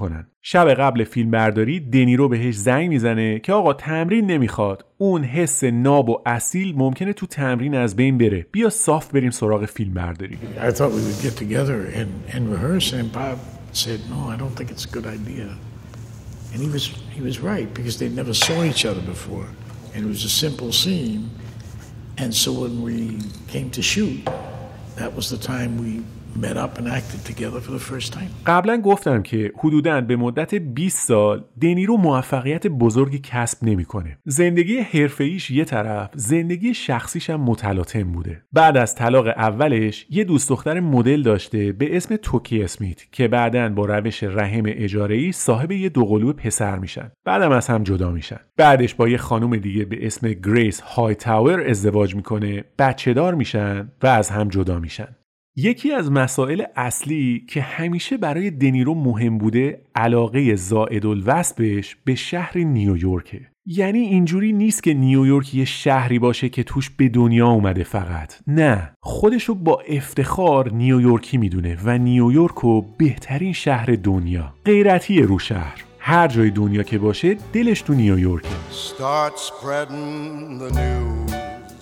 شب قبل فیلم برداری دنیرو بهش زنگ میزنه که آقا تمرین نمیخواد، اون حس ناب و اصیل ممکنه تو تمرین از بین بره، بیا صاف بریم سراغ فیلم برداری. I thought we would get together and, and rehearse and Bob said no, I don't think it's a good idea. And he was he was right because they never saw each other before and it was a simple scene. And so when we came to shoot, that was the time we met up and acted together for the first time. قبلا گفتم که حدوداً به مدت بیست سال دنیرو موفقیت بزرگی کسب نمیکنه. زندگی حرفه‌ایش یه طرف، زندگی شخصیش هم متلاطم بوده. بعد از طلاق اولش یه دوست دختر مدل داشته به اسم توکی اسمیت که بعداً با روش رحم اجاره‌ای صاحب یه دوقلو پسر میشن. بعدم از هم جدا میشن. بعدش با یه خانم دیگه به اسم گریس هایتاور ازدواج میکنه، بچه‌دار میشن و از هم جدا میشن. یکی از مسائل اصلی که همیشه برای دنیرو مهم بوده علاقه زائدالوصفش به شهر نیویورکه. یعنی اینجوری نیست که نیویورک یه شهری باشه که توش به دنیا اومده فقط. نه، خودشو با افتخار نیویورکی میدونه و نیویورکو بهترین شهر دنیا. غیرتیه رو شهر. هر جای دنیا که باشه دلش تو نیویورکه. Start spreading the news.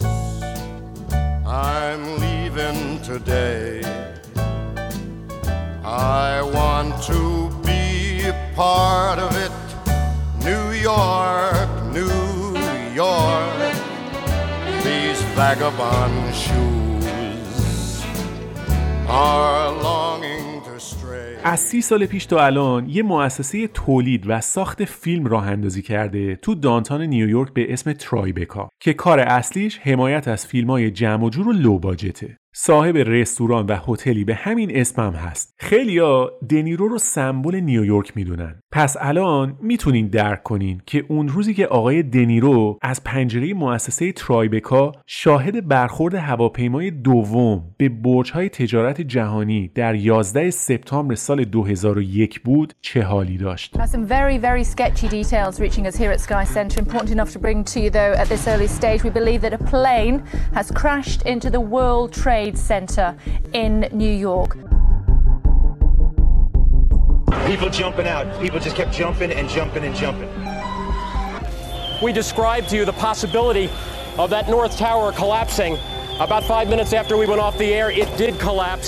I'm leaving today. I want to be a part of it. New York, New York. These vagabond shoes are longing to stray. از سی سال پیش تا الان یه مؤسسه تولید و ساخت فیلم راه اندازی کرده تو دانتان نیویورک به اسم ترایبکا که کار اصلیش حمایت از فیلم‌های جمع و جور و لو باجته. صاحب رستوران و هتلی به همین اسم هم هست. خیلیا دنیرو رو سمبل نیویورک میدونن. پس الان میتونین درک کنین که اون روزی که آقای دنیرو از پنجره مؤسسه ترایبکا شاهد برخورد هواپیمای دوم به برج‌های تجارت جهانی در یازده سپتامبر سال دو هزار و یک بود چه حالی داشت. Some very very sketchy details reaching us here at Sky Center. Important enough to bring to you though at this early stage. We believe that a plane has crashed into the World Trade Center in New York. People jumping out. People just kept jumping and jumping and jumping. We described to you the possibility of that North Tower collapsing. About five minutes after we went off the air, it did collapse.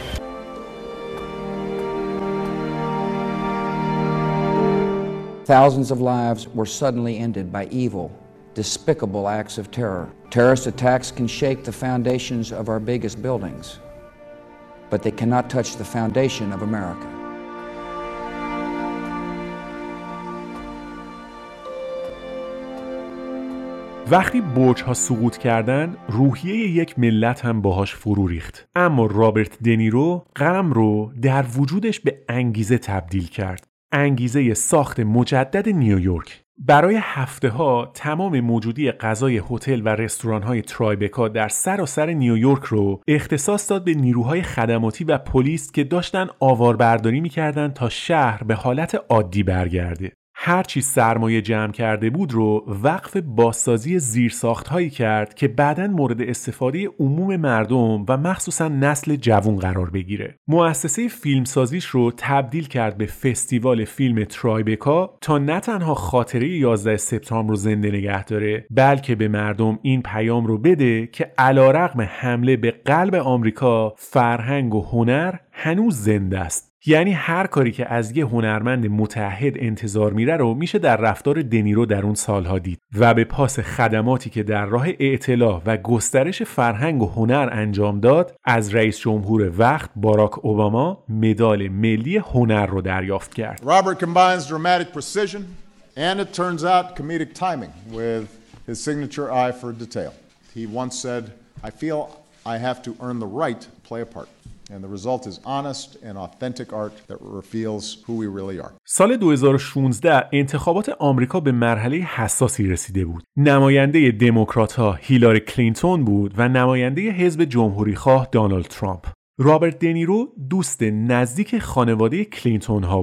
Thousands of lives were suddenly ended by evil, despicable acts of terror. Terrorist attacks can shake the foundations of our biggest buildings, but they cannot touch the foundation of America. وقتی برج‌ها سقوط کردن، روحیه یک ملت هم باهاش فرو ریخت. اما رابرت دنیرو غم رو در وجودش به انگیزه تبدیل کرد. انگیزه ساخت مجدد نیویورک. برای هفته ها تمام موجودی غذای هتل و رستوران‌های ترایبکا در سراسر نیویورک رو اختصاص داد به نیروهای خدماتی و پلیس که داشتن آواربرداری می‌کردن تا شهر به حالت عادی برگرده. هر چی سرمایه جمع کرده بود رو وقف بازسازی زیرساخت‌هایی کرد که بعداً مورد استفاده عموم مردم و مخصوصاً نسل جوان قرار بگیره. مؤسسه فیلمسازیش رو تبدیل کرد به فستیوال فیلم ترایبکا تا نه تنها خاطره یازده سپتامبر رو زنده نگه داره، بلکه به مردم این پیام رو بده که علیرغم حمله به قلب آمریکا، فرهنگ و هنر هنوز زنده است. یعنی هر کاری که از یه هنرمند متعهد انتظار میره رو میشه در رفتار دنیرو در اون سالها دید و به پاس خدماتی که در راه اطلاع و گسترش فرهنگ و هنر انجام داد از رئیس جمهور وقت باراک اوباما مدال ملی هنر رو دریافت کرد. Robert combines dramatic precision and it turns out comedic timing with his signature eye for detail. He once said, I feel I have to earn the right to play a part. And the result is honest and authentic art that reveals who we really are. سال دو هزار و شانزده انتخابات آمریکا به مرحله حساسی رسیده بود. نماینده دموکرات‌ها هیلاری کلینتون بود و نماینده حزب جمهوری‌خواه دونالد ترامپ. رابرت دنیرو دوست نزدیک خانواده کلینتون ها بود.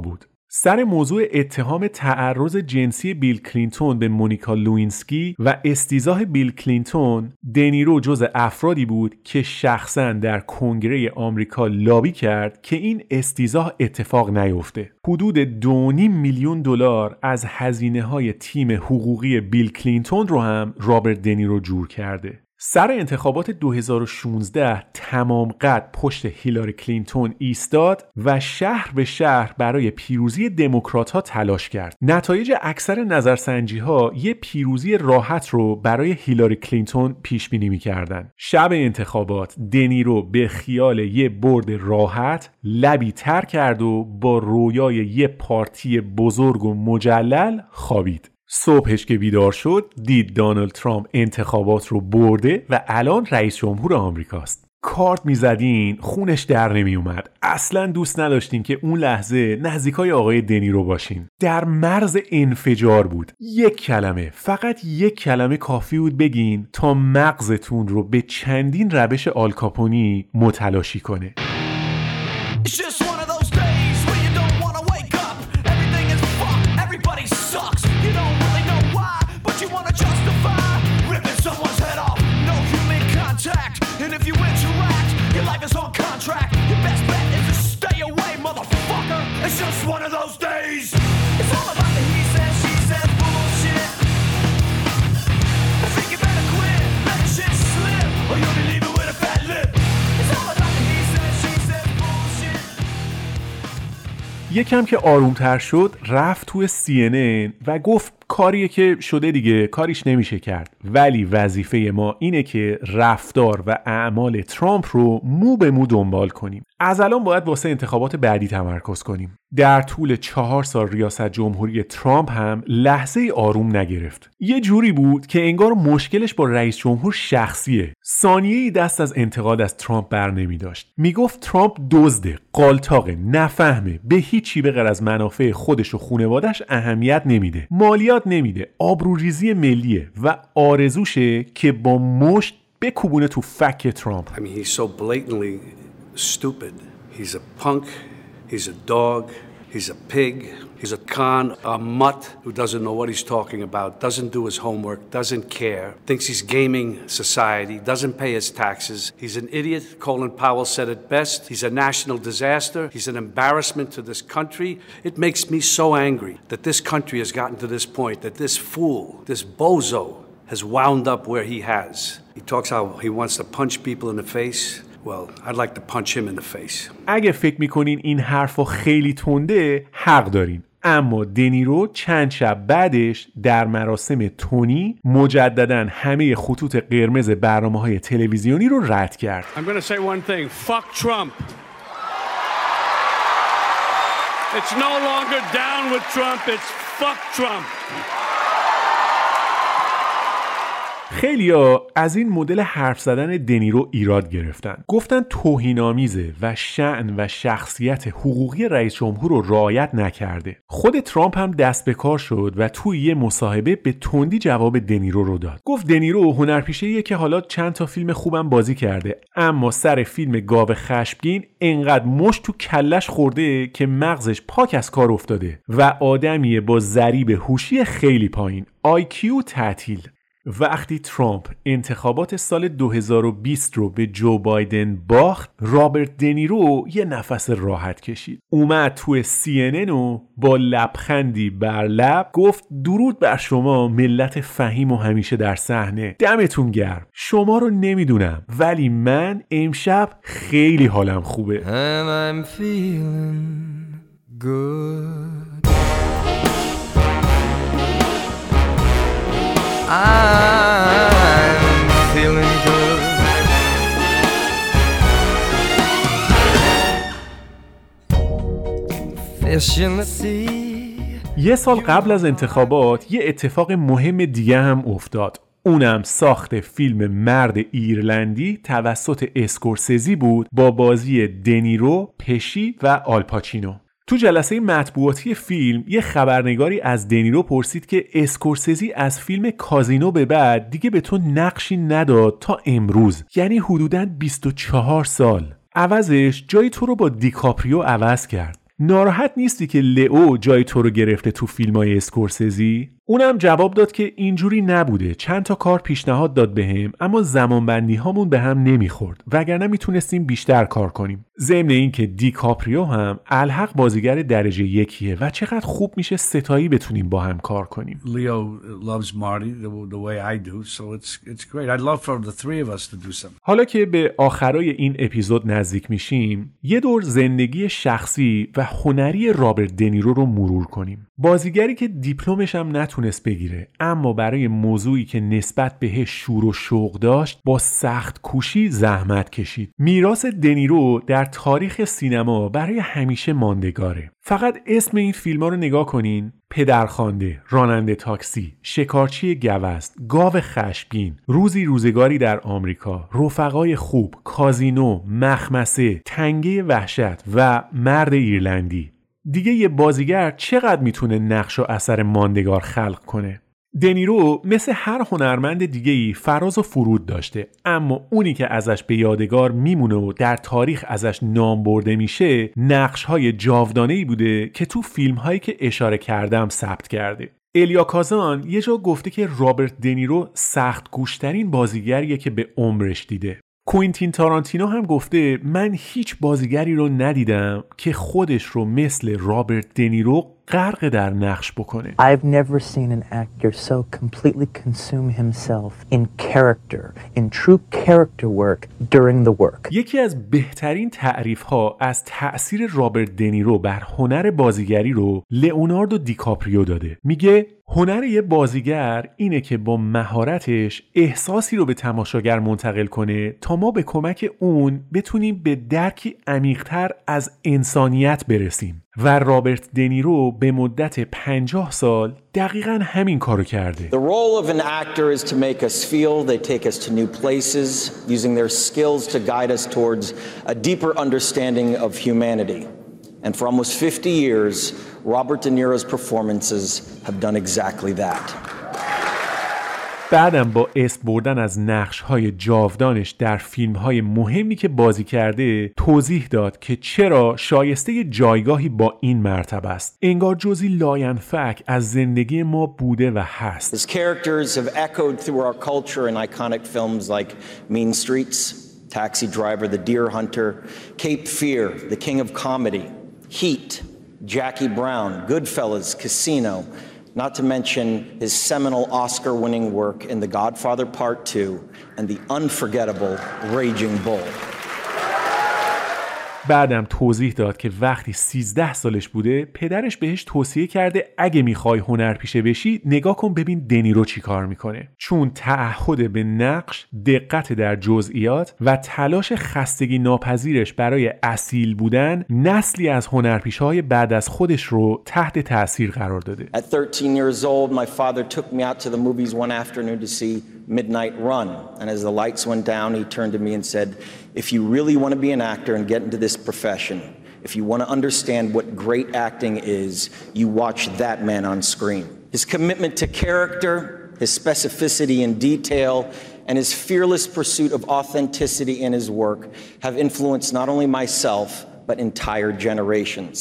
سر موضوع اتهام تعرض جنسی بیل کلینتون به مونیکا لوینسکی و استیضاح بیل کلینتون، دنیرو جز افرادی بود که شخصاً در کنگره آمریکا لابی کرد که این استیضاح اتفاق نیفته. حدود دو و نیم میلیون دلار از هزینه‌های تیم حقوقی بیل کلینتون رو هم رابرت دنیرو جور کرده. سر انتخابات دو هزار و شانزده تمام قد پشت هیلاری کلینتون ایستاد و شهر به شهر برای پیروزی دموکرات‌ها تلاش کرد. نتایج اکثر نظرسنجی‌ها یه پیروزی راحت رو برای هیلاری کلینتون پیش بینی می‌کردن. شب انتخابات دنیرو به خیال یه برد راحت لبی تر کرد و با رویای یه پارتی بزرگ و مجلل خوابید. صبحش که بیدار شد دید دونالد ترامپ انتخابات رو برده و الان رئیس جمهور آمریکاست. کارت میزدین خونش در نمی اومد. اصلا دوست نداشتین که اون لحظه نزدیکای آقای دنیرو باشین. در مرز انفجار بود. یک کلمه، فقط یک کلمه کافی بود بگین تا مغزتون رو به چندین روش آلکاپونی متلاشی کنه. And if you interact, your life is on contract. Your best bet is to stay away, motherfucker. It's just one of those days. It's all about the he says, she says bullshit. I think you better quit, let shit slip, or you'll be leaving with a fat lip. It's all about the he says, she says bullshit. یکم که آرومتر شد رفت توی سی ان ان و گفت کاریه که شده دیگه، کاریش نمیشه کرد، ولی وظیفه ما اینه که رفتار و اعمال ترامپ رو مو به مو دنبال کنیم. از الان باید واسه انتخابات بعدی تمرکز کنیم. در طول چهار سال ریاست جمهوری ترامپ هم لحظه آروم نگرفت. یه جوری بود که انگار مشکلش با رئیس جمهور شخصیه. ثانیه‌ای دست از انتقاد از ترامپ بر نمی داشت. میگفت ترامپ دزده، قالتاقه، نفهمه، به هیچی به غیر از منافع خودش و خانواده‌اش اهمیت نمیده، مالیات نمیده، آبروریزی ملیه و آرزوشه که با مشت بکوبونه تو فک ترامپ. I mean, he's so blatantly stupid. He's a punk, he's a dog, he's a pig, he's a con, a mutt who doesn't know what he's talking about, doesn't do his homework, doesn't care, thinks he's gaming society, doesn't pay his taxes. He's an idiot. Colin Powell said it best. He's a national disaster. He's an embarrassment to this country. It makes me so angry that this country has gotten to this point, that this fool, this bozo, has wound up where he has. He talks how he wants to punch people in the face. Well, I'd like to punch him in the face. اگه فکر میکنین این حرفا خیلی تنده، حق دارین. اما دنیرو چند شب بعدش در مراسم تونی مجدداً همه خطوط قرمز برنامه‌های تلویزیونی رو رد کرد. I'm going to say one thing. Fuck Trump. It's no longer down with Trump. It's fuck Trump. خیلیا از این مدل حرف زدن دنیرو ایراد گرفتن. گفتن توهین‌آمیزه و شأن و شخصیت حقوقی رئیس جمهور رو رعایت نکرده. خود ترامپ هم دست به کار شد و توی یه مصاحبه به تندی جواب دنیرو رو داد. گفت دنیرو هنرپیشه‌ایه که حالا چند تا فیلم خوبم بازی کرده، اما سر فیلم گاو خشمگین انقدر مشت تو کلش خورده که مغزش پاک از کار افتاده و آدمیه با ضریب هوشی خیلی پایین، آی کیو تعطیل. وقتی ترامپ انتخابات سال دو هزار و بیست رو به جو بایدن باخت، رابرت دنیرو یه نفس راحت کشید. اومد توی سی ان ان و با لبخندی بر لب گفت درود بر شما ملت فهیم و همیشه در صحنه، دمتون گرم. شما رو نمیدونم ولی من امشب خیلی حالم خوبه. And I'm feeling good. I'm feeling good. Fish in the sea. یه سال قبل از انتخابات یه اتفاق مهم دیگه هم افتاد. اونم ساخت فیلم مرد ایرلندی توسط اسکورسیزی بود با بازی دنیرو، پشی و آلپاچینو. تو جلسه مطبوعاتی فیلم یه خبرنگاری از دنیرو پرسید که اسکورسیزی از فیلم کازینو به بعد دیگه به تو نقشی نداد تا امروز، یعنی حدوداً بیست و چهار سال. عوضش جای تو رو با دیکاپریو عوض کرد. ناراحت نیستی که لئو جای تو رو گرفته تو فیلمای اسکورسزی؟ اونم جواب داد که اینجوری نبوده، چند تا کار پیشنهاد داد بهم، اما زمانبندی هامون به هم نمیخورد وگرنه میتونستیم بیشتر کار کنیم. ضمن این که دیکاپریو هم الحق بازیگر درجه یکیه و چقدر خوب میشه ستایی بتونیم با هم کار کنیم. Leo loves Marty the, the way I do, so it's it's great. I'd love for the three of us to do something. حالا که به آخرای این اپیزود نزدیک میشیم، یه دور زندگی شخصی و هنری رابرت دنیرو رو مرور کنیم. بازیگری که دیپلمش هم نتونست بگیره، اما برای موضوعی که نسبت بهش شور و شوق داشت با سخت کوشی زحمت کشید. میراث دنیرو در تاریخ سینما برای همیشه ماندگاره. فقط اسم این فیلم‌ها رو نگاه کنین: پدرخوانده، راننده تاکسی، شکارچی گوزن، گاو خشمگین، روزی روزگاری در آمریکا، رفقای خوب، کازینو، مخمسه، تنگه وحشت و مرد ایرلندی. دیگه یه بازیگر چقدر میتونه نقش و اثر ماندگار خلق کنه؟ دنیرو مثل هر هنرمند دیگه‌ای فراز و فرود داشته، اما اونی که ازش به یادگار میمونه و در تاریخ ازش نام برده میشه نقش‌های جاودانه‌ای بوده که تو فیلم‌هایی که اشاره کردم ثبت کرده. الیا کازان یه جا گفته که رابرت دنیرو سخت گوشترین بازیگریه که به عمرش دیده. کوینتین تارانتینو هم گفته من هیچ بازیگری رو ندیدم که خودش رو مثل رابرت دنیرو غرق در نقش بکنه. I've never seen an actor so completely consume himself in character, in true character work during the work. یکی از بهترین تعریف‌ها از تأثیر رابرت دنیرو بر هنر بازیگری رو لئوناردو دیکاپریو داده. میگه هنر یه بازیگر اینه که با مهارتش احساسی رو به تماشاگر منتقل کنه تا ما به کمک اون بتونیم به درکی عمیق‌تر از انسانیت برسیم. و رابرت دنیرو به مدت پنجاه سال دقیقاً همین کارو کرده. The role of an actor is to make us feel, they take us to new places, using their skills to guide us towards a deeper understanding of humanity. And for almost fifty years, Robert De Niro's performances have done exactly that. بعدم با اسم بردن از نقش‌های جاودانش در فیلم‌های مهمی که بازی کرده توضیح داد که چرا شایسته جایگاهی با این مرتبه است. انگار جزئی لاینفک از زندگی ما بوده و هست. His characters have echoed through our culture in iconic films like Mean Streets, Taxi Driver, The Deer Hunter, Cape Fear, The King of Comedy, Heat, Jackie Brown, Goodfellas, Casino, not to mention his seminal Oscar-winning work in The Godfather Part two and the unforgettable Raging Bull. بعدم توضیح داد که وقتی سیزده سالش بوده پدرش بهش توصیه کرده اگه میخوای هنرپیشه بشی نگاه کن ببین دنیرو چی کار میکنه، چون تعهد به نقش، دقت در جزئیات و تلاش خستگی ناپذیرش برای اصیل بودن نسلی از هنرپیشه‌های بعد از خودش رو تحت تاثیر قرار داده. At thirteen years old, my father took me out to the movies one afternoon to see Midnight Run, and as the lights went down, he turned to me and said, if you really want to be an actor and get into this profession, if you want to understand what great acting is, you watch that man on screen. His commitment to character, his specificity in detail, and his fearless pursuit of authenticity in his work have influenced not only myself, but entire generations.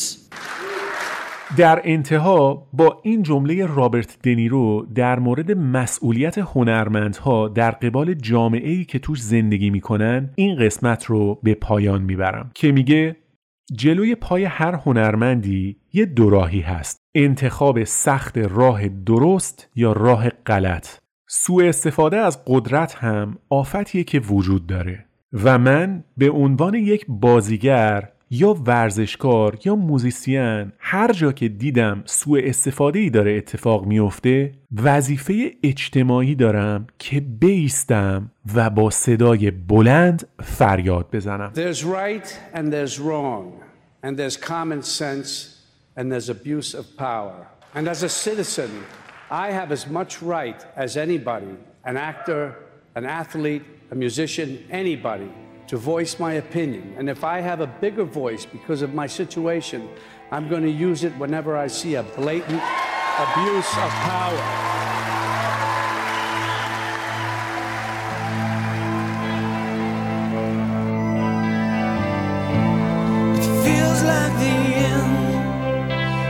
در انتها با این جمله رابرت دنیرو در مورد مسئولیت هنرمندها در قبال جامعه‌ای که توش زندگی میکنن این قسمت رو به پایان میبرم که میگه جلوی پای هر هنرمندی یه دوراهی هست، انتخاب سخت راه درست یا راه غلط. سوء استفاده از قدرت هم آفتیه که وجود داره و من به عنوان یک بازیگر یا ورزشکار یا موزیسین هر جا که دیدم سوء استفاده‌ای داره اتفاق میفته وظیفه اجتماعی دارم که بایستم و با صدای بلند فریاد بزنم. There's right and there's wrong and there's common sense and there's abuse of power. And as a citizen, I have as much right as anybody, an actor, an athlete, a musician, anybody, to voice my opinion. And if I have a bigger voice because of my situation, I'm going to use it whenever I see a blatant abuse of power. It feels like the end.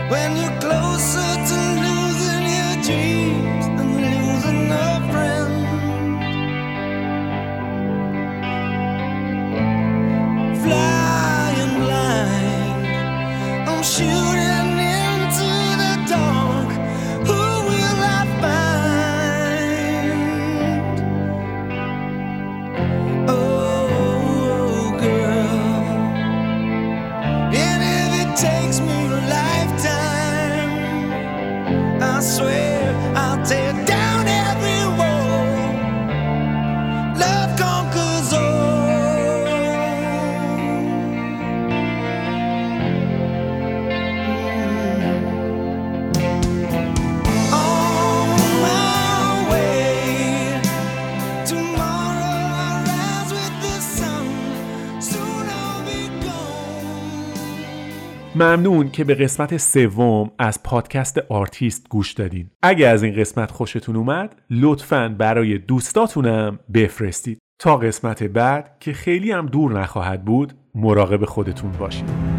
when you're closer to losing your dreams than losing a friend. Flying blind, I'm shooting into the dark. Who will I find? Oh, girl, and if it takes me a lifetime, I swear I'll tear down every wall. Love conquers all. On my way, tomorrow I'll rise with the sun. Soon I'll be gone. ممنون که به قسمت سوم از پادکست آرتیست گوش دادین. اگه از این قسمت خوشتون اومد لطفاً برای دوستاتونم بفرستید. تا قسمت بعد که خیلی هم دور نخواهد بود مراقب خودتون باشید.